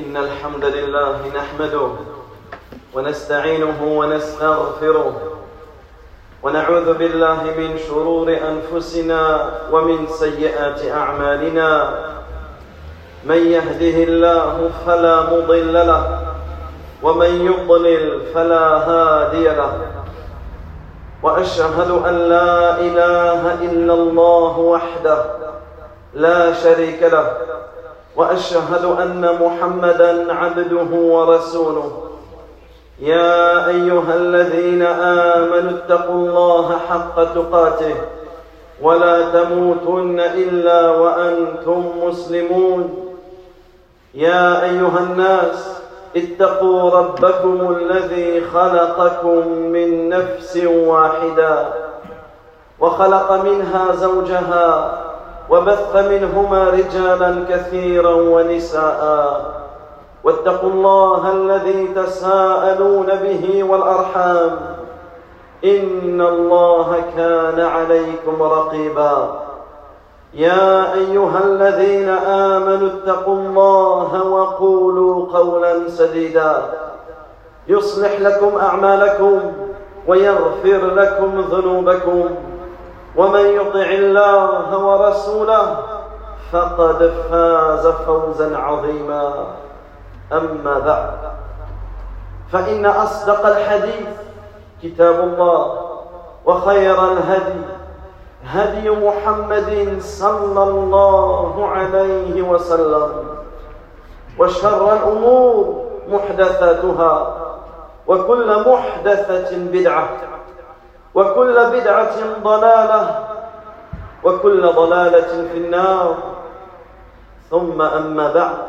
إن الحمد لله نحمده ونستعينه ونستغفره ونعوذ بالله من شرور أنفسنا ومن سيئات أعمالنا. من يهده الله فلا مضل له ومن يضلل فلا هادي له. وأشهد أن لا إله إلا الله وحده لا شريك له، وأشهد أن محمدًا عبده ورسوله. يا أيها الذين آمنوا اتقوا الله حق تقاته ولا تموتن إلا وأنتم مسلمون. يا أيها الناس اتقوا ربكم الذي خلقكم من نفس واحدة وخلق منها زوجها وبث منهما رجالا كثيرا ونساء. واتقوا الله الذي تساءلون به والأرحام إن الله كان عليكم رقيبا. يا أيها الذين آمنوا اتقوا الله وقولوا قولا سديدا يصلح لكم أعمالكم ويغفر لكم ذنوبكم، ومن يطع الله ورسوله فقد فاز فوزا عظيما. أما بعد، فإن أصدق الحديث كتاب الله، وخير الهدي هدي محمد صلى الله عليه وسلم، وشر الأمور محدثاتها، وكل محدثة بدعة، وكل بدعة ضلالة، وكل ضلالة في النار. ثم أما بعد،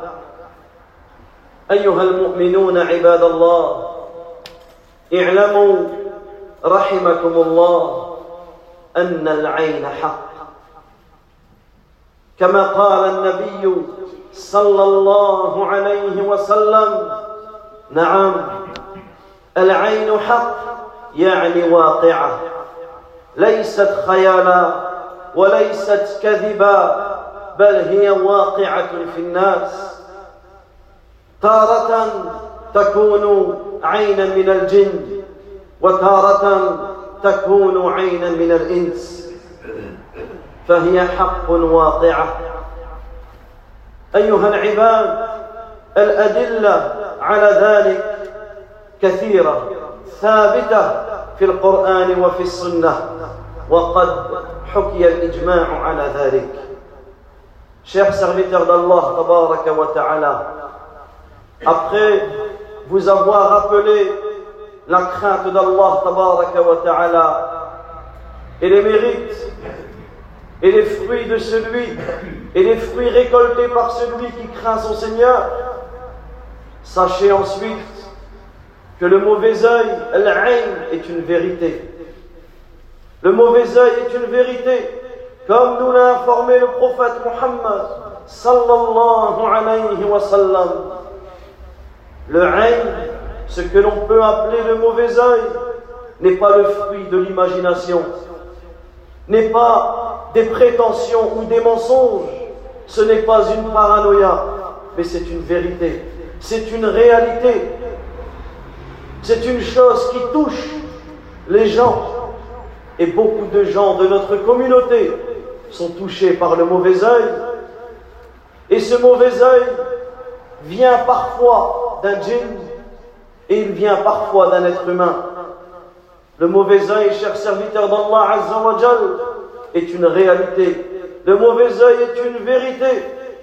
أيها المؤمنون عباد الله، اعلموا رحمكم الله أن العين حق، كما قال النبي صلى الله عليه وسلم: نعم، العين حق، يعني واقعة، ليست خيالا وليست كذبا، بل هي واقعة في الناس. تارة تكون عينا من الجن، وتارة تكون عينا من الإنس، فهي حق واقعة. أيها العباد، الأدلة على ذلك كثيرة ثابتة في القرآن وفي السنة، وقد حكي الإجماع على ذلك. Chers serviteurs d'Allah tabaraka wa ta'ala, après vous avoir rappelé la crainte d'Allah tabaraka wa ta'ala et les mérites et les fruits de celui et les fruits récoltés par celui qui craint son Seigneur, sachez ensuite que le mauvais œil, al-ayn, est une vérité. Le mauvais œil est une vérité, comme nous l'a informé le prophète Muhammad sallallahu alayhi wa sallam. Le ayn, ce que l'on peut appeler le mauvais œil, n'est pas le fruit de l'imagination, n'est pas des prétentions ou des mensonges, ce n'est pas une paranoïa, mais c'est une vérité, c'est une réalité, c'est une chose qui touche les gens. Et beaucoup de gens de notre communauté sont touchés par le mauvais œil. Et ce mauvais œil vient parfois d'un djinn et il vient parfois d'un être humain. Le mauvais œil, chers serviteurs d'Allah Azza wa Jal, est une réalité. Le mauvais œil est une vérité.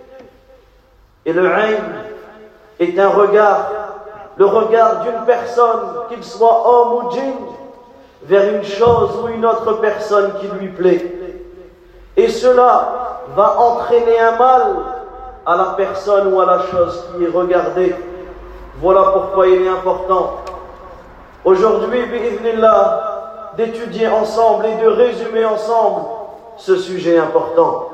Et le ayn est un regard, le regard d'une personne, qu'il soit homme ou djinn, vers une chose ou une autre personne qui lui plaît. Et cela va entraîner un mal à la personne ou à la chose qui est regardée. Voilà pourquoi il est important aujourd'hui, bi'idhnillah, d'étudier ensemble et de résumer ensemble ce sujet important.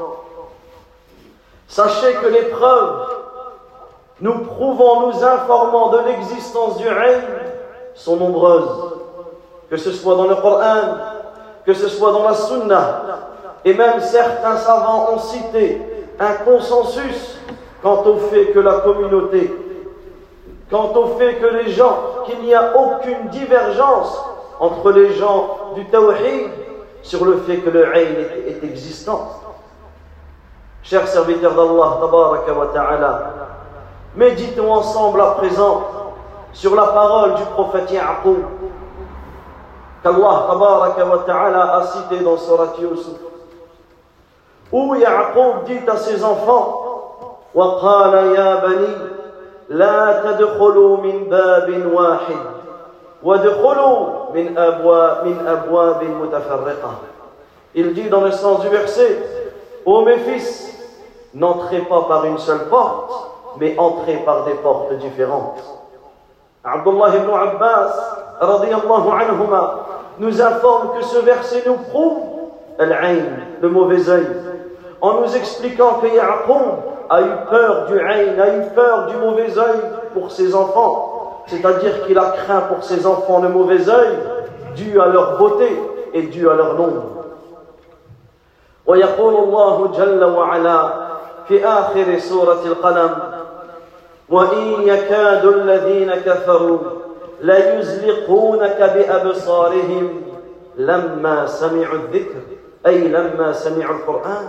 Sachez que les preuves nous prouvant, nous informant de l'existence du ayn sont nombreuses, que ce soit dans le Coran, que ce soit dans la Sunna, et même certains savants ont cité un consensus quant au fait que la communauté quant au fait que les gens, qu'il n'y a aucune divergence entre les gens du tawhid sur le fait que le ayn est existant. Chers serviteurs d'Allah, tabaraka wa ta'ala, méditons ensemble à présent sur la parole du prophète Ya'qub qu'Allah tabaraka wa ta'ala a cité dans Surat Yusuf, où Ya'qub dit à ses enfants: وَقَالَ يَا بَنِي لَا تَدْخُلُوا مِنْ بَابٍ وَاحِدٍ وَادْخُلُوا مِنْ أَبْوَابٍ مُتَفَرِّقَةٍ. Il dit dans le sens du verset: ô mes fils, n'entrez pas par une seule porte, mais entrez par des portes différentes. Abdullah ibn Abbas radiyallahu anhuma nous informe que ce verset nous prouve al-ayn, le mauvais œil, en nous expliquant que Ya'qub a eu peur du ayn, a eu peur du mauvais œil pour ses enfants, c'est-à-dire qu'il a craint pour ses enfants le mauvais œil dû à leur beauté et dû à leur nombre. ويقول الله جل وعلا في آخر سورة القلم: وإن يكاد الذين كفروا ليزلقونك بأبصارهم لما سمعوا الذكر أي لما سمعوا القرآن.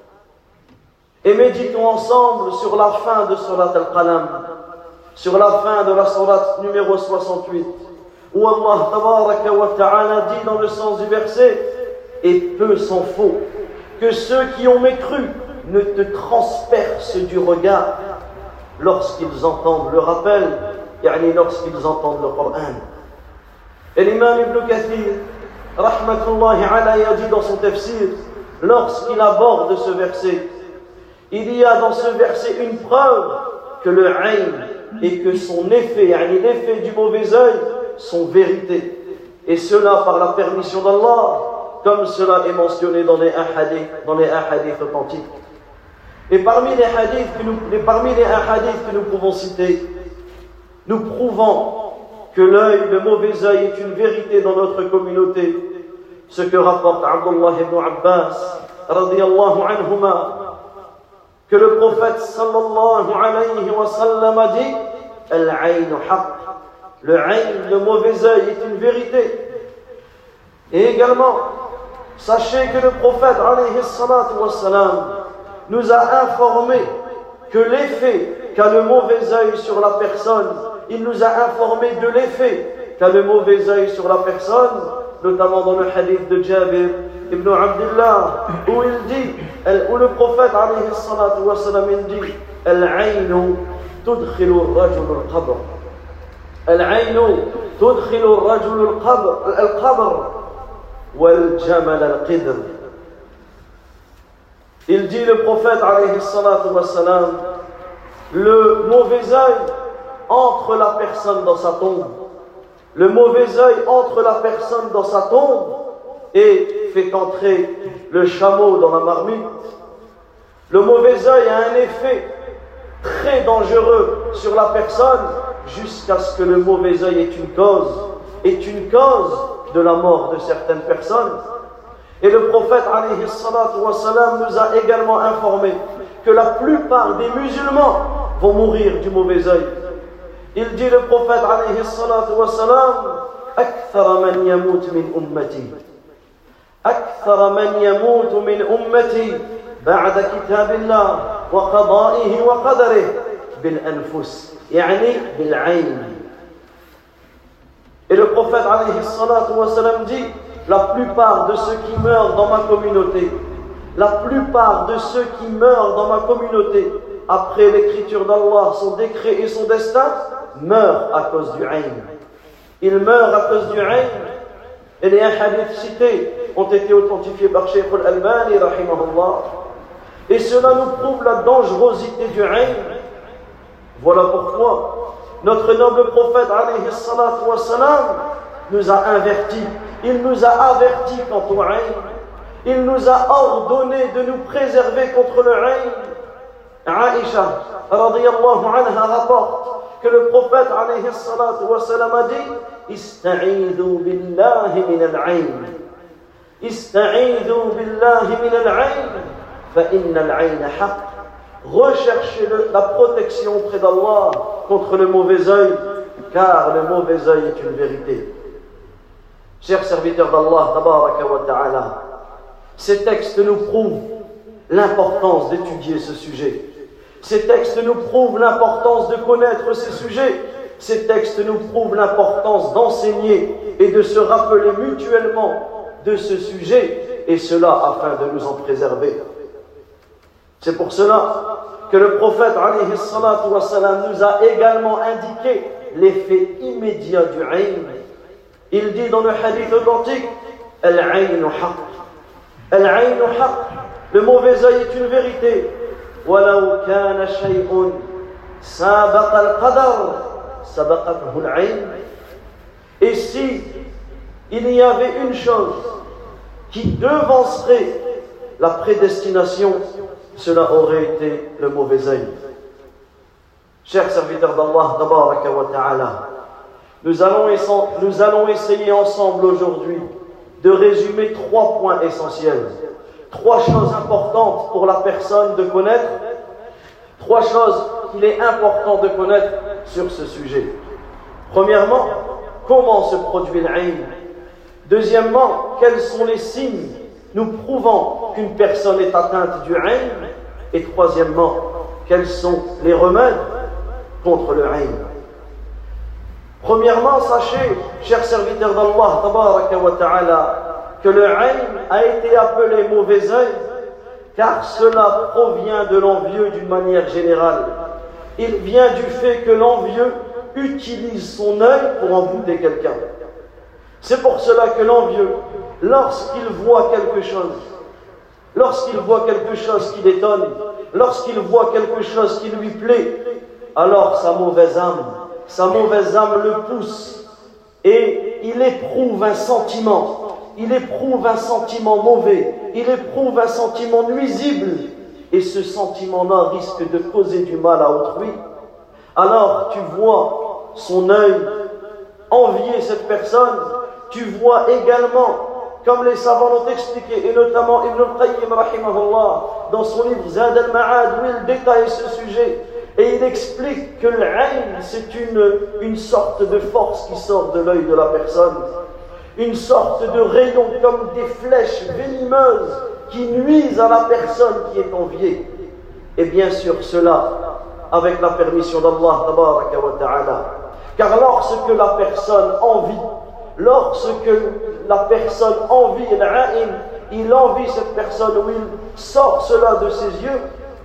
Et méditons ensemble sur la fin de Surat Al-Qalam, sur la fin de la Surat numéro 68, où Allah tabaraka wa ta'ala dit dans le sens du verset: et peu s'en faut que ceux qui ont mécru ne te transpercent du regard lorsqu'ils entendent le rappel, lorsqu'ils entendent le Coran. Et l'imam Ibn Kathir, rahmatullahi alayhi, a dit dans son tafsir, lorsqu'il aborde ce verset, il y a dans ce verset une preuve que le ayn et que son effet, l'effet du mauvais œil, sont vérité. Et cela par la permission d'Allah, comme cela est mentionné dans les hadiths authentiques. Et parmi les hadiths que nous pouvons citer, nous prouvons que l'œil, le mauvais œil, est une vérité dans notre communauté. Ce que rapporte Abdullah ibn Abbas, radiyallahu anhuma, que le prophète sallallahu alayhi wa sallam a dit: Al-ayn haqq. Le ayn, le mauvais œil, est une vérité. Et également, sachez que le prophète alayhi salatu wa salam nous a informé que l'effet qu'a le mauvais œil sur la personne, il nous a informé de l'effet qu'a le mauvais œil sur la personne, notamment dans le hadith de Jabir ibn Abdullah, où le prophète alayhi salatu wa salam dit: Al-aynu tudkhilu ar-rajul al-qabr. Al-aynu tudkhilu ar-rajul al-qabr wal-jamal al-qidr. Il dit, le prophète alayhi salatu wa salam, le mauvais œil entre la personne dans sa tombe. Le mauvais œil entre la personne dans sa tombe et fait entrer le chameau dans la marmite. Le mauvais œil a un effet très dangereux sur la personne jusqu'à ce que le mauvais œil est une cause de la mort de certaines personnes. Et le prophète alayhi salatu wa salam nous a également informé que la plupart des musulmans vont mourir du mauvais œil. Il dit, le prophète alayhi salatu wa salam: Akthara man yamut min ummati. Akthara man yamut min ummati ba'da kitabillah wa qada'ihi wa qadarih bil anfus, bil ayn. Et le prophète alayhi salatu wa salam dit: la plupart de ceux qui meurent dans ma communauté, la plupart de ceux qui meurent dans ma communauté, après l'écriture d'Allah, son décret et son destin, meurent à cause du ayn. Ils meurent à cause du ayn. Et les hadiths cités ont été authentifiés par Shaykh al-Albani, rahimahullah. Et cela nous prouve la dangerosité du ayn. Voilà pourquoi notre noble prophète, alayhi salatu wa salam, nous a avertis. Il nous a avertis quant au ayn. Il nous a ordonné de nous préserver contre le ayn. Aïcha, radiyallahu anha, rapporte que le prophète, alayhi salatu wa salam, a dit: Ista'idhu billahi min al-ayn. Ista'idhu billahi min al-ayn, fa inna al-ayn haqq. recherchez la protection auprès d'Allah contre le mauvais œil, car le mauvais œil est une vérité. Chers serviteurs d'Allah, tabaraka wa ta'ala, ces textes nous prouvent l'importance d'étudier ce sujet. Ces textes nous prouvent l'importance de connaître ces sujets. Ces textes nous prouvent l'importance d'enseigner et de se rappeler mutuellement de ce sujet, et cela afin de nous en préserver. C'est pour cela que le prophète alayhi salatu wa salam nous a également indiqué l'effet immédiat du ayn. Il dit dans le hadith authentique, Al-aynu haqq. Al-aynu haqq. Le mauvais œil est une vérité. وَلَوْ كَانَ شَيْءٌ سَابَقَ الْقَدَرَ سَبَقَتْهُ الْعَيْنُ. Et si il y avait une chose qui devancerait la prédestination, cela aurait été le mauvais œil. Chers serviteurs d'Allah, tabaraka wa ta'ala, nous allons essayer ensemble aujourd'hui de résumer 3 points essentiels. 3 choses importantes pour la personne de connaître, 3 choses qu'il est important de connaître sur ce sujet. Premièrement, comment se produit l'ayn. Deuxièmement, quels sont les signes nous prouvant qu'une personne est atteinte du ayn. Et troisièmement, quels sont les remèdes contre le ayn. Premièrement, sachez, chers serviteurs d'Allah, tabaraka wa ta'ala, que le ayn a été appelé mauvais œil car cela provient de l'envieux d'une manière générale. Il vient du fait que l'envieux utilise son œil pour embouter quelqu'un. C'est pour cela que l'envieux, lorsqu'il voit quelque chose qui l'étonne, lorsqu'il voit quelque chose qui lui plaît, alors sa mauvaise âme le pousse et il éprouve un sentiment mauvais, il éprouve un sentiment nuisible, et ce sentiment-là risque de causer du mal à autrui. Alors tu vois son œil envier cette personne, tu vois également, comme les savants l'ont expliqué, et notamment Ibn al-Qayyim rahimahullah, dans son livre Zad al-Ma'ad, où il détaille ce sujet, et il explique que l'ayn, c'est une sorte de force qui sort de l'œil de la personne, une sorte de rayon comme des flèches venimeuses qui nuisent à la personne qui est enviée. Et bien sûr cela avec la permission d'Allah tabaraka wa ta'ala. Car lorsque la personne envie l'ayn, il envie cette personne, où il sort cela de ses yeux,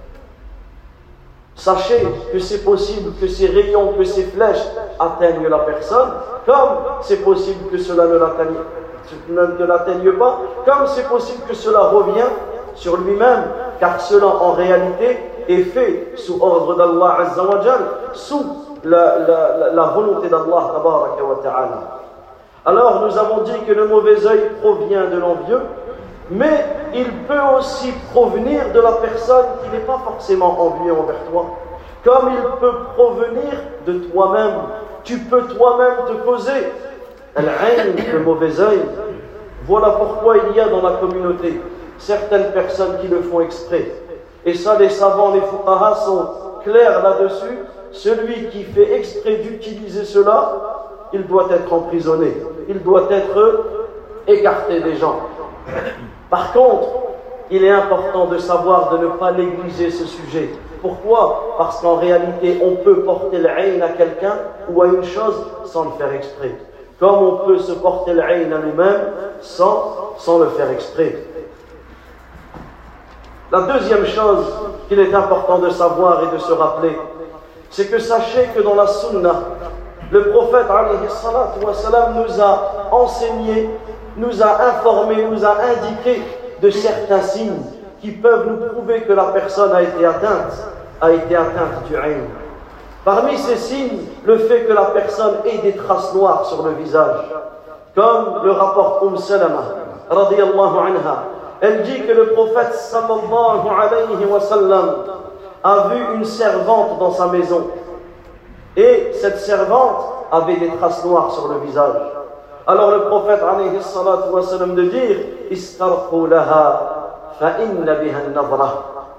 sachez que c'est possible que ces rayons, que ces flèches atteignent la personne, comme c'est possible que cela ne l'atteigne pas, comme c'est possible que cela revienne sur lui-même, car cela en réalité est fait sous ordre d'Allah Azza wa Jal, sous la volonté d'Allah tabaraka wa ta'ala. Alors nous avons dit que le mauvais œil provient de l'envieux, mais il peut aussi provenir de la personne qui n'est pas forcément envieux envers toi, comme il peut provenir de toi-même. Tu peux toi-même te causer l'ayn, le mauvais œil. Voilà pourquoi il y a dans la communauté certaines personnes qui le font exprès. Et ça, les savants, les fuqaha sont clairs là-dessus. Celui qui fait exprès d'utiliser cela, il doit être emprisonné, il doit être écarté des gens. Par contre, il est important de savoir de ne pas négliger ce sujet. Pourquoi? Parce qu'en réalité, on peut porter l'ayn à quelqu'un ou à une chose sans le faire exprès. Comme on peut se porter l'ayn à lui-même sans le faire exprès. La deuxième chose qu'il est important de savoir et de se rappeler, c'est que sachez que dans la sunna, le prophète alayhi salatu wa salam nous a enseigné, nous a informé, nous a indiqué de certains signes qui peuvent nous prouver que la personne a été atteinte du ayn. Parmi ces signes, le fait que la personne ait des traces noires sur le visage, comme le rapporte Salama radiyallahu anha. Elle dit que le prophète sallallahu alayhi wa sallam a vu une servante dans sa maison, et cette servante avait des traces noires sur le visage. Alors le prophète alayhi salatu wa sallam de dire: istarqu laha fa inna biha an-nadra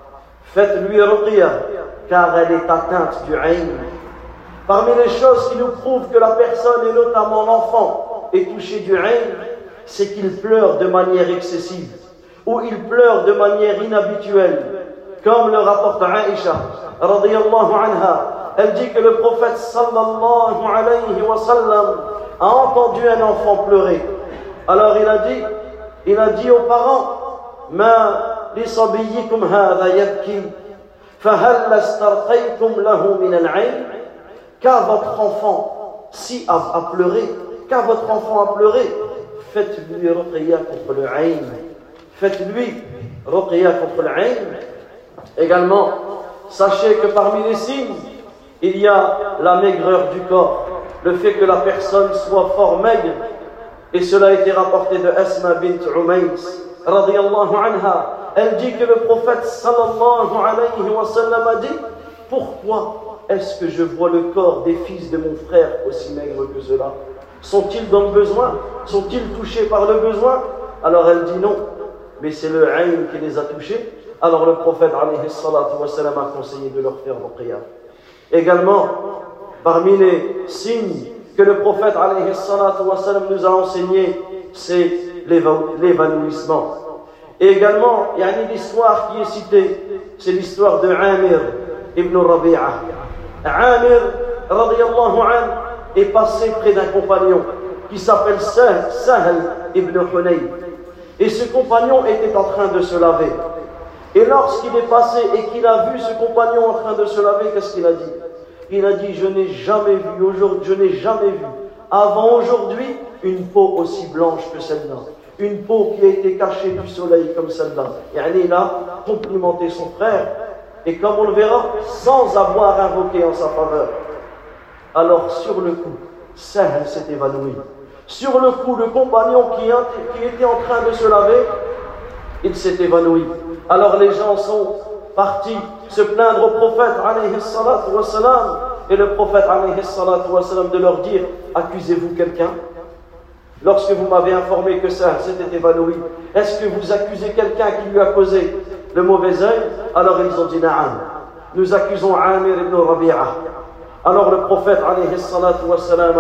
Faites-lui ruqya, car elle est atteinte du ayn. Parmi les choses qui nous prouvent que la personne, et notamment l'enfant, est touchée du ayn, c'est qu'il pleure de manière excessive, ou il pleure de manière inhabituelle, comme le rapporte Aïcha, radiyallahu anha. Elle dit que le prophète sallallahu alayhi wa sallam a entendu un enfant pleurer. Alors il a dit aux parents, Ma li sabiyyikum hadha yabki, fahal astarqaytum lahu min al-ayn. Car votre enfant si a pleuré, car votre enfant a pleuré, faites-lui ruqya contre le ayn. Faites-lui ruqya contre le ayn. Également, sachez que parmi les signes, il y a la maigreur du corps, le fait que la personne soit fort maigre, et cela a été rapporté de Asma bint Umays, radiyallahu anha. Elle dit que le prophète sallallahu alayhi wa sallam a dit, pourquoi est-ce que je vois le corps des fils de mon frère aussi maigre que cela? Sont-ils dans le besoin? Sont-ils touchés par le besoin? Alors elle dit non, mais c'est le ayn qui les a touchés. Alors le prophète alayhi salatu wa sallam a conseillé de leur faire ruqya. Également, parmi les signes que le prophète alayhi salatu wa sallam nous a enseigné, c'est l'évanouissement. Et également, il y a une histoire qui est citée, c'est l'histoire de Amir ibn Rabi'a. Amir, radiyallahu anhu, est passé près d'un compagnon qui s'appelle Sahl ibn Hunayf. Et ce compagnon était en train de se laver. Et lorsqu'il est passé et qu'il a vu ce compagnon en train de se laver, qu'est-ce qu'il a dit? Il a dit, je n'ai jamais vu avant aujourd'hui une peau aussi blanche que celle-là. Une peau qui a été cachée du soleil comme celle-là. Et il a complimenté son frère. Et comme on le verra, sans avoir invoqué en sa faveur. Alors sur le coup, Sahl s'est évanoui. Sur le coup, le compagnon qui était en train de se laver, il s'est évanoui. Alors les gens sont partis se plaindre au prophète alayhi salatu wa salam, et le prophète alayhi salatu wa salam de leur dire, accusez-vous quelqu'un? Lorsque vous m'avez informé que ça s'était évanoui, est-ce que vous accusez quelqu'un qui lui a causé le mauvais œil? Alors ils ont dit na'am, nous accusons Amir ibn Rabi'a. Alors le prophète alayhi salatu wa salam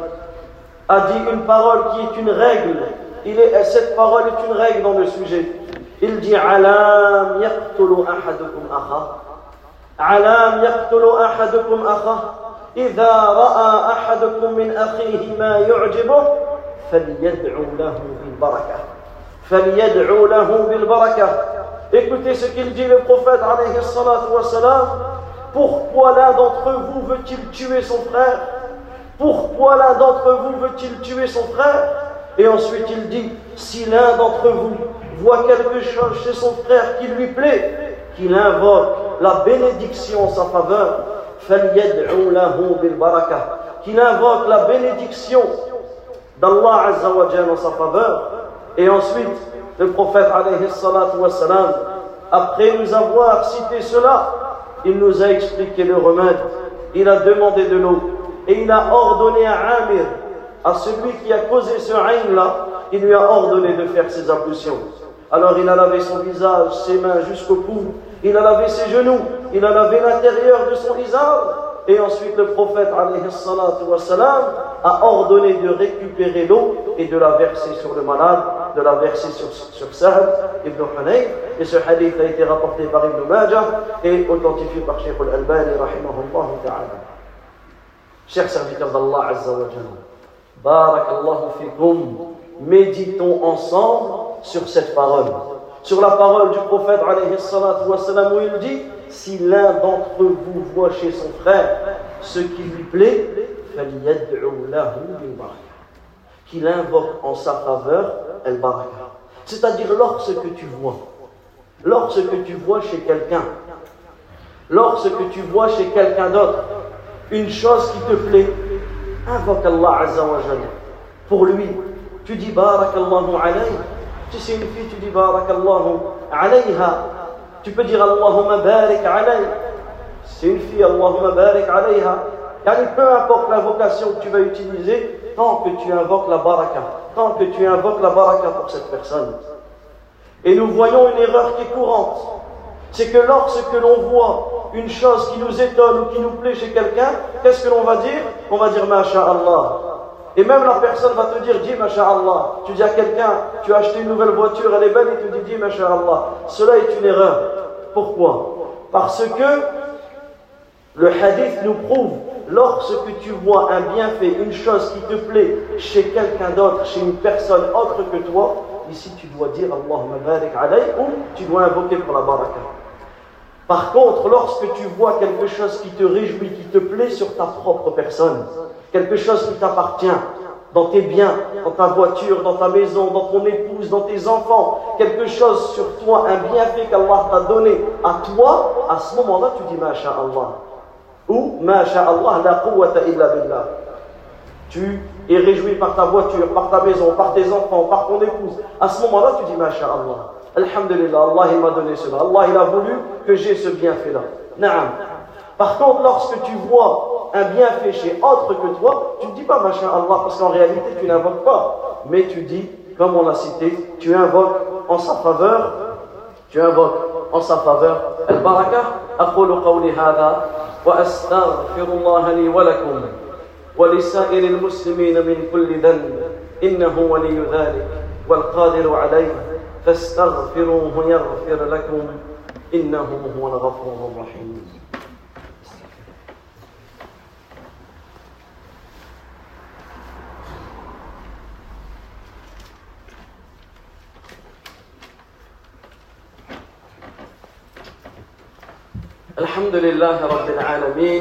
a dit une parole qui est une règle. Cette parole est une règle dans le sujet. Il dit alam yaqtulu ahadukum akha, alam yaqtulu ahadukum akha, idha ra'a ahadukum min akhihi ma yu'jibuh falyad'u lahu bil barakah, falyad'u lahu bil barakah. Écoutez ce qu'il dit le prophète alayhi salatu wa salam. Pourquoi l'un d'entre vous veut-il tuer son frère? Pourquoi l'un d'entre vous veut-il tuer son frère? Et ensuite il dit, si l'un d'entre vous voit quelque chose chez son frère qui lui plaît, qu'il invoque la bénédiction en sa faveur, فَلْيَدْعُوا لَهُ بِالْبَرَكَةِ, qu'il invoque la bénédiction d'Allah Azza wa Jalla en sa faveur. Et ensuite, le prophète alayhi salatu wa salam, après nous avoir cité cela, il nous a expliqué le remède. Il a demandé de l'eau et il a ordonné à Amir, à celui qui a causé ce ayn-là, il lui a ordonné de faire ses ablutions. Alors il a lavé son visage, ses mains jusqu'au cou, il a lavé ses genoux, il a lavé l'intérieur de son visage, et ensuite le prophète alayhi salatu wa salam a ordonné de récupérer l'eau et de la verser sur le malade, de la verser sur Sahl ibn Hunayf. Et ce hadith a été rapporté par Ibn Majah et authentifié par Cheikh al-Albani rahimahullah ta'ala. Chers serviteurs d'Allah Azza wa Jalla, barakallahu fikum, méditons ensemble sur cette parole, sur la parole du prophète alayhi salatu wa salam, où il dit, si l'un d'entre vous voit chez son frère ce qui lui plaît, فَلْيَدْعُوا لَهُ بِالْبَرَكَةِ, qu'il invoque en sa faveur al-baraka. C'est-à-dire lorsque tu vois chez quelqu'un, lorsque tu vois chez quelqu'un d'autre une chose qui te plaît, invoque Allah Azza wa Jalla pour lui. Tu dis barakallahu alayhi. Si c'est une fille, tu dis barakallahu alayha. Tu peux dire Allahumma barik alayhi. Si c'est une fille, Allahumma barik alayha. Car peu importe l'invocation que tu vas utiliser, tant que tu invoques la baraka, tant que tu invoques la baraka pour cette personne. Et nous voyons une erreur qui est courante, c'est que lorsque l'on voit une chose qui nous étonne ou qui nous plaît chez quelqu'un, qu'est-ce que l'on va dire? On va dire Masha'Allah. Et même la personne va te dire, dis Masha'Allah. Tu dis à quelqu'un, tu as acheté une nouvelle voiture, elle est belle, et tu dis Masha'Allah. Cela est une erreur. Pourquoi? Parce que le hadith nous prouve, lorsque tu vois un bienfait, une chose qui te plaît chez quelqu'un d'autre, chez une personne autre que toi, ici tu dois dire Allahumma barik alayh ou tu dois invoquer pour la baraka. Par contre, lorsque tu vois quelque chose qui te réjouit, qui te plaît sur ta propre personne, quelque chose qui t'appartient, dans tes biens, dans ta voiture, dans ta maison, dans ton épouse, dans tes enfants, quelque chose sur toi, un bienfait qu'Allah t'a donné à toi, à ce moment-là tu dis Masha'Allah. Ou Masha'Allah la quwwata illa billah. Tu es réjoui par ta voiture, par ta maison, par tes enfants, par ton épouse. À ce moment-là, tu dis Masha'Allah. Alhamdulillah, Allah il m'a donné cela. Allah il a voulu que j'ai ce bienfait-là. Naam. Par contre, lorsque tu vois un bienfait chez autre que toi, tu ne dis pas Masha'Allah parce qu'en réalité tu n'invoques pas. Mais tu dis, comme on l'a cité, tu invoques en sa faveur. Tu invoques en sa faveur. Al-Baraka. أقول قولي هذا وأستغفر الله لي ولكم ولسائر المسلمين من كل ذنب إنه ولي ذلك والقادر عليه فاستغفروه يغفر لكم إنه هو الغفور الرحيم. الحمد لله رب العالمين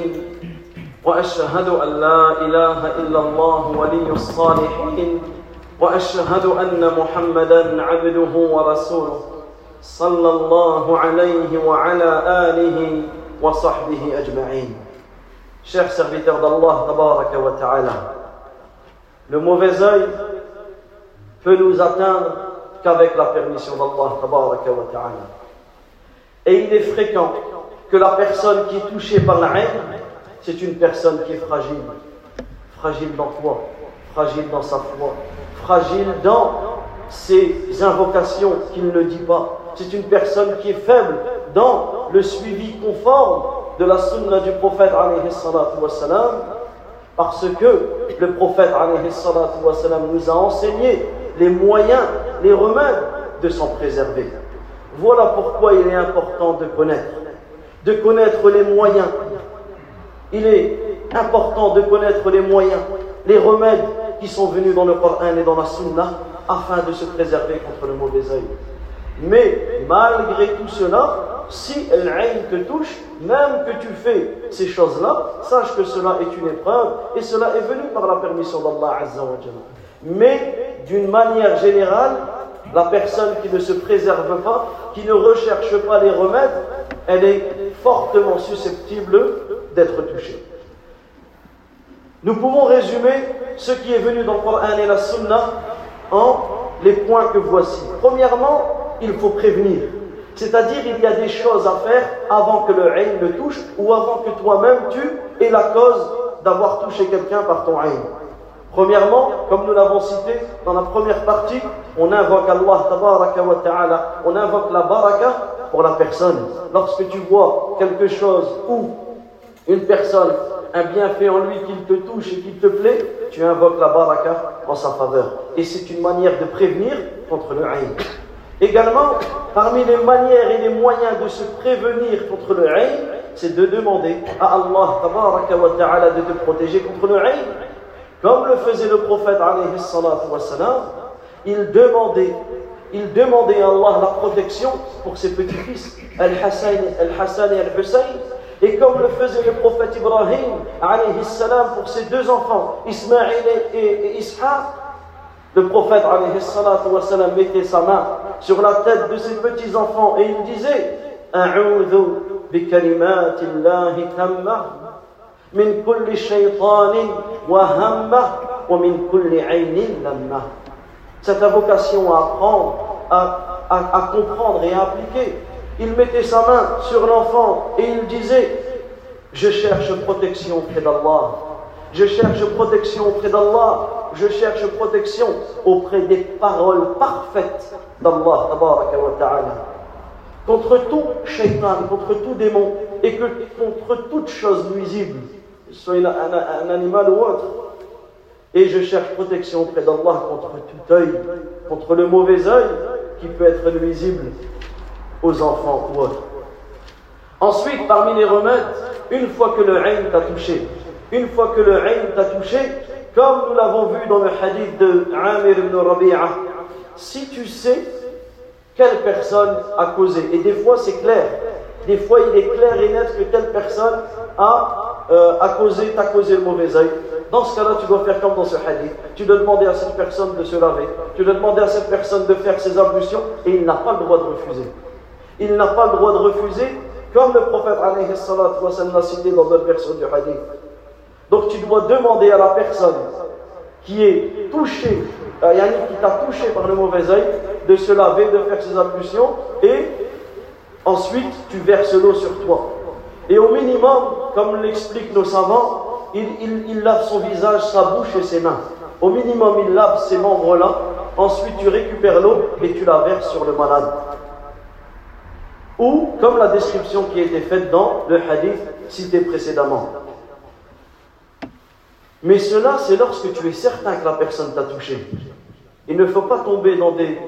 وأشهد أن لا إله إلا الله ولي الصالحين وأشهد أن محمدًا عبده ورسوله صلى الله عليه وعلى آله وصحبه أجمعين. Chers serviteurs d'Allah tabaraka wa ta'ala, le mauvais œil peut nous atteindre qu'avec la permission d'Allah tabaraka wa ta'ala. Et il est fréquent que la personne qui est touchée par la haine, c'est une personne qui est fragile. Fragile dans quoi? Fragile dans sa foi. Fragile dans ses invocations qu'il ne dit pas. C'est une personne qui est faible dans le suivi conforme de la sunna du prophète alayhi salatu wassalam, parce que le prophète alayhi salatu wassalam nous a enseigné les moyens, les remèdes de s'en préserver. Voilà pourquoi il est important de connaître les moyens. Il est important de connaître les moyens, les remèdes qui sont venus dans le Coran et dans la Sunna afin de se préserver contre le mauvais œil. Mais malgré tout cela, si l'aïn te touche, même que tu fais ces choses-là, sache que cela est une épreuve et cela est venu par la permission d'Allah Azza wa Jalla. Mais d'une manière générale, la personne qui ne se préserve pas, qui ne recherche pas les remèdes, elle est fortement susceptible d'être touchée. Nous pouvons résumer ce qui est venu dans le Coran et la Sunna en les points que voici. Premièrement, il faut prévenir. C'est-à-dire, il y a des choses à faire avant que le ayn le touche ou avant que toi-même tu aies la cause d'avoir touché quelqu'un par ton ayn. Premièrement, comme nous l'avons cité dans la première partie, on invoque Allah tabaraka wa ta'ala, on invoque la baraka pour la personne. Lorsque tu vois quelque chose ou une personne, un bienfait en lui qui te touche et qui te plaît, tu invoques la baraka en sa faveur. Et c'est une manière de prévenir contre le ayn. Également, parmi les manières et les moyens de se prévenir contre le ayn, c'est de demander à Allah tabaraka wa ta'ala de te protéger contre le ayn. Comme le faisait le prophète alayhi salatu wassalam, il demandait à Allah la protection pour ses petits-fils, Al-Hassan et Al-Hussein. Et comme le faisait le prophète Ibrahim alayhi salam pour ses deux enfants, Ismaïl et Ishaq, le prophète alayhi salatu wassalam mettait sa main sur la tête de ses petits-enfants et il disait A'udhu bi kalimatillahi tammah min kulli shaytanin wa hammah wa min kulli aynin lammah. Cette invocation à apprendre, à comprendre et à appliquer. Il mettait sa main sur l'enfant et il disait je cherche protection auprès d'Allah, je cherche protection auprès d'Allah, je cherche protection auprès des paroles parfaites d'Allah tabaraka wa ta'ala. contre tout shaitan, contre tout démon, et que contre toute chose nuisible, soit un animal ou autre. Et je cherche protection auprès d'Allah contre tout œil, contre le mauvais œil qui peut être nuisible aux enfants ou autres. Ensuite, parmi les remèdes, une fois que le ayn t'a touché, comme nous l'avons vu dans le hadith de Amir ibn Rabi'a, si tu sais quelle personne a causé, et des fois c'est clair, des fois il est clair et net que telle personne t'a causé le mauvais œil. Dans ce cas-là, tu dois faire comme dans ce hadith. Tu dois demander à cette personne de se laver. Tu dois demander à cette personne de faire ses ablutions et il n'a pas le droit de refuser. Il n'a pas le droit de refuser, comme le prophète alayhi salatu wa sallam l'a cité dans d'autres versions du hadith. Donc tu dois demander à la personne qui est touchée, qui t'a touché par le mauvais œil, de se laver, de faire ses ablutions et ensuite tu verses l'eau sur toi. Et au minimum, comme l'expliquent nos savants, il lave son visage, sa bouche et ses mains. Au minimum, il lave ces membres-là. Ensuite, tu récupères l'eau et tu la verses sur le malade. Ou, comme la description qui a été faite dans le hadith cité précédemment. Mais cela, c'est lorsque tu es certain que la personne t'a touché. Il ne faut pas tomber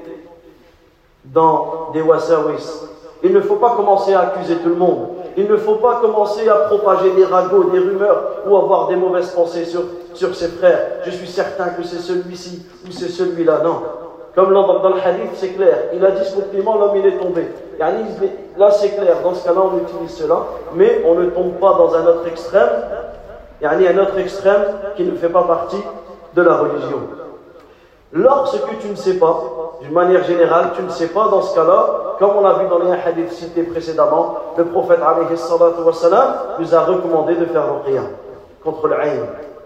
dans des wasawis. Il ne faut pas commencer à accuser tout le monde. Il ne faut pas commencer à propager des ragots, des rumeurs ou avoir des mauvaises pensées sur ses frères. Je suis certain que c'est celui-ci ou c'est celui-là. Non. Comme dans le hadith, c'est clair. Il a dit ce compliment, l'homme il est tombé. Là c'est clair. Dans ce cas-là, on utilise cela. Mais on ne tombe pas dans un autre extrême. Un autre extrême qui ne fait pas partie de la religion. Lorsque tu ne sais pas, d'une manière générale, tu ne sais pas dans ce cas-là, comme on l'a vu dans les hadiths cités précédemment, le prophète alayhi salatu wa salam nous a recommandé de faire ruqya contre le ayn.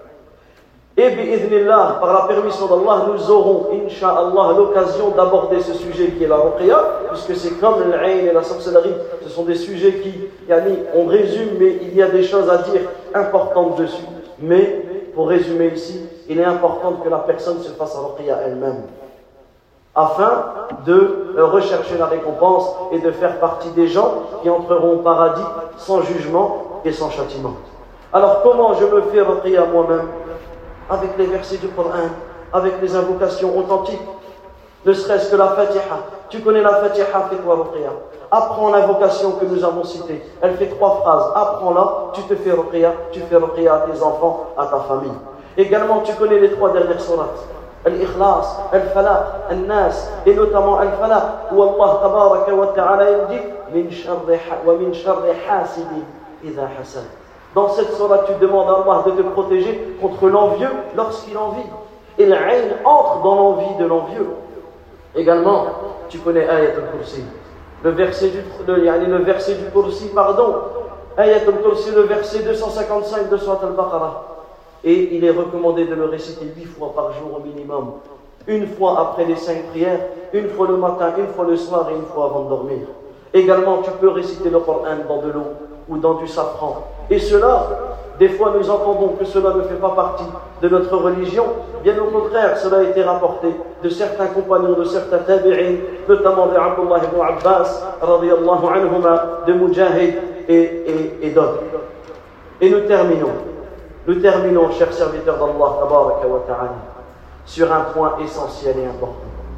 Et bi'idhnillah, par la permission d'Allah, nous aurons, incha'Allah, l'occasion d'aborder ce sujet qui est la ruqya, puisque c'est comme le ayn et la sorcellerie, ce sont des sujets qui, on résume, mais il y a des choses à dire importantes dessus. Mais, pour résumer ici, il est important que la personne se fasse ruqya elle-même, afin de rechercher la récompense et de faire partie des gens qui entreront au paradis sans jugement et sans châtiment. Alors comment je me fais ruqya moi-même? Avec les versets du Coran, avec les invocations authentiques, ne serait-ce que la Fatiha. Tu connais la Fatiha, fais-toi ruqya. Apprends l'invocation que nous avons citée. Elle fait 3 phrases. Apprends-la, tu te fais ruqya, tu fais ruqya à tes enfants, à ta famille. Également, tu connais les 3 dernières sourates. Al-Ikhlas, Al-Falaq, Al-Nas, et notamment Al-Falaq, où Allah tabaraka wa ta'ala dit min sharri hasidin idha hasad. Dans cette sourate, tu demandes à Allah de te protéger contre l'envieux lorsqu'il envie. Et l'ayn entre dans l'envie de l'envieux. Également, tu connais Ayat al-Kursi. Le verset du Kursi, Ayat al-Kursi, le verset 255 de Surat al-Baqarah. Et il est recommandé de le réciter 8 fois par jour au minimum. Une fois après les 5 prières, une fois le matin, une fois le soir et une fois avant de dormir. Également, tu peux réciter le Coran dans de l'eau ou dans du safran. Et cela, des fois nous entendons que cela ne fait pas partie de notre religion. Bien au contraire, cela a été rapporté de certains compagnons, de certains tabi'in, notamment de Abdullah ibn Abbas, radiyallahu anhuma, de Mujahid et d'autres. Et nous terminons, chers serviteurs d'Allah, tabaraka wa ta'ala, sur un point essentiel et important.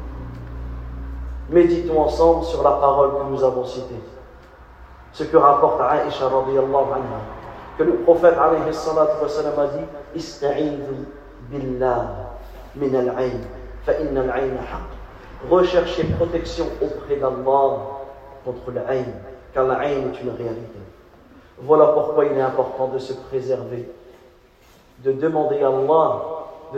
Méditons ensemble sur la parole que nous avons citée. Ce que rapporte Aïcha radiyallahu anha, que le prophète alayhi salatu wa sallam a dit Ista'idhu billah min al-ayn, fa inna al-ayn haqq. Recherchez protection auprès d'Allah contre l'ayn, car l'ayn est une réalité. Voilà pourquoi il est important de se préserver, de demander à Allah de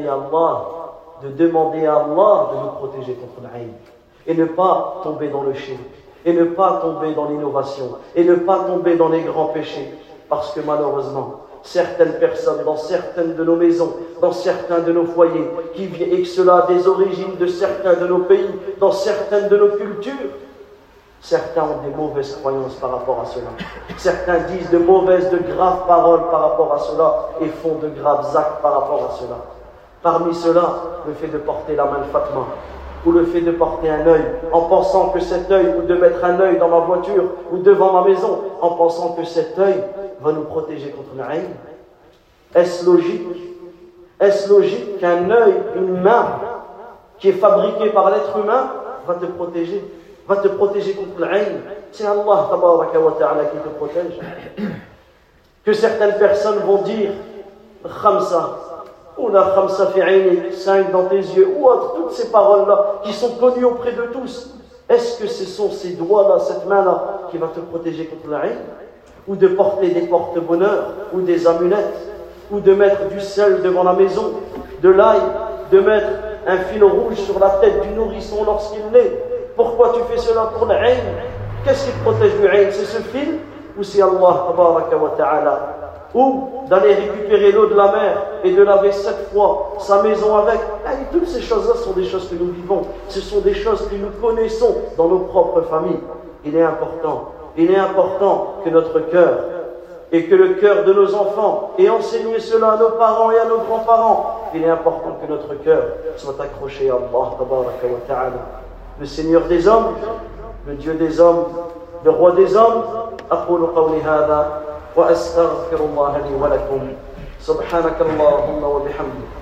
nous protéger contre l'ayn, et ne pas tomber dans le shirk, et ne pas tomber dans l'innovation, et ne pas tomber dans les grands péchés, parce que malheureusement, certaines personnes, dans certaines de nos maisons, dans certains de nos foyers, et que cela a des origines de certains de nos pays, dans certaines de nos cultures, certains ont des mauvaises croyances par rapport à cela. Certains disent de graves paroles par rapport à cela, et font de graves actes par rapport à cela. Parmi cela, le fait de porter la main Fatma, ou le fait de porter un œil en pensant que cet œil, ou de mettre un œil dans ma voiture ou devant ma maison en pensant que cet œil va nous protéger contre l'aïn? Est-ce logique? Est-ce logique qu'un œil, une main qui est fabriquée par l'être humain va te protéger contre l'aïn? C'est Allah tabaraka wa ta'ala qui te protège. Que certaines personnes vont dire Khamsa, ou la Khamsa fi aynik, 5 dans tes yeux, ou autre, toutes ces paroles-là qui sont connues auprès de tous. Est-ce que ce sont ces doigts-là, cette main-là, qui va te protéger contre l'aïn? Ou de porter des porte-bonheur, ou des amulettes, ou de mettre du sel devant la maison, de l'ail, de mettre un fil rouge sur la tête du nourrisson lorsqu'il naît? Pourquoi tu fais cela? Pour l'aïn? Qu'est-ce qui te protège du aïn? C'est ce fil? Ou c'est Allah tabaraka wa ta'ala? Ou d'aller récupérer l'eau de la mer et de laver 7 fois sa maison avec? Et toutes ces choses-là sont des choses que nous vivons. Ce sont des choses que nous connaissons dans nos propres familles. Il est important que notre cœur et que le cœur de nos enfants, et enseigner cela à nos parents et à nos grands-parents, il est important que notre cœur soit accroché à Allah tabaraka wa ta'ala, le Seigneur des hommes, le Dieu des hommes, le roi des hommes. أقول قولي هذا وأستغفر الله لي ولكم سبحانك اللهم وبحمدك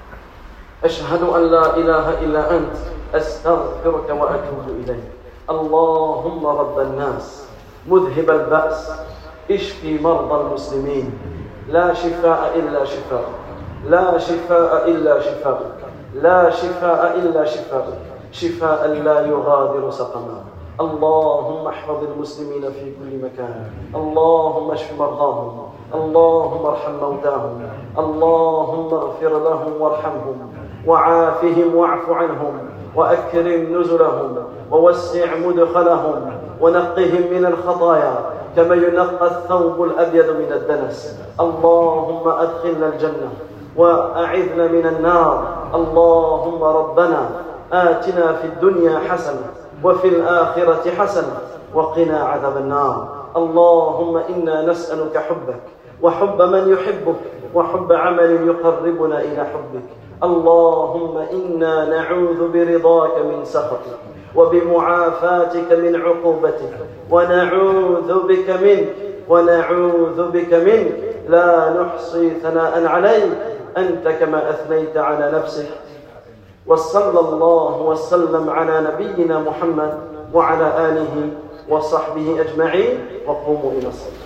أشهد أن لا إله إلا أنت أستغفرك وأتوب إليك اللهم رب الناس مذهب البأس اشفي مرضى المسلمين لا شفاء إلا شفاءك لا شفاء إلا شفاءك لا شفاء إلا شفاءك شفاء لا يغادر سقما اللهم احفظ المسلمين في كل مكان اللهم اشف مرضاهم اللهم ارحم موتاهم اللهم اغفر لهم وارحمهم وعافهم واعف عنهم وأكرم نزلهم ووسع مدخلهم ونقهم من الخطايا كما ينقى الثوب الأبيض من الدنس اللهم أدخلنا الجنة وأعذنا من النار اللهم ربنا آتنا في الدنيا حسنة وفي الآخرة حسنة وقنا عذاب النار اللهم إنا نسألك حبك وحب من يحبك وحب عمل يقربنا إلى حبك اللهم إنا نعوذ برضاك من سخطك وبمعافاتك من عقوبتك ونعوذ بك منك لا نحصي ثناء عليك أنت كما أثنيت على نفسك وصلى الله وسلم على نبينا محمد وعلى آله وصحبه أجمعين وقوموا إلى الصلاة